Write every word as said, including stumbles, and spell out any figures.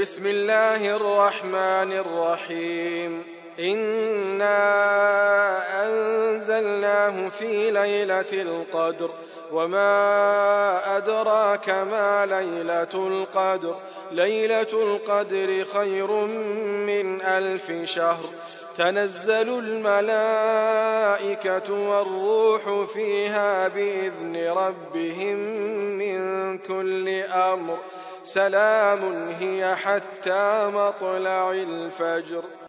بسم الله الرحمن الرحيم إنا أنزلناه في ليلة القدر وما أدراك ما ليلة القدر ليلة القدر خير من ألف شهر تنزل الملائكة والروح فيها بإذن ربهم من كل أمر سلام هي حتى مطلع الفجر.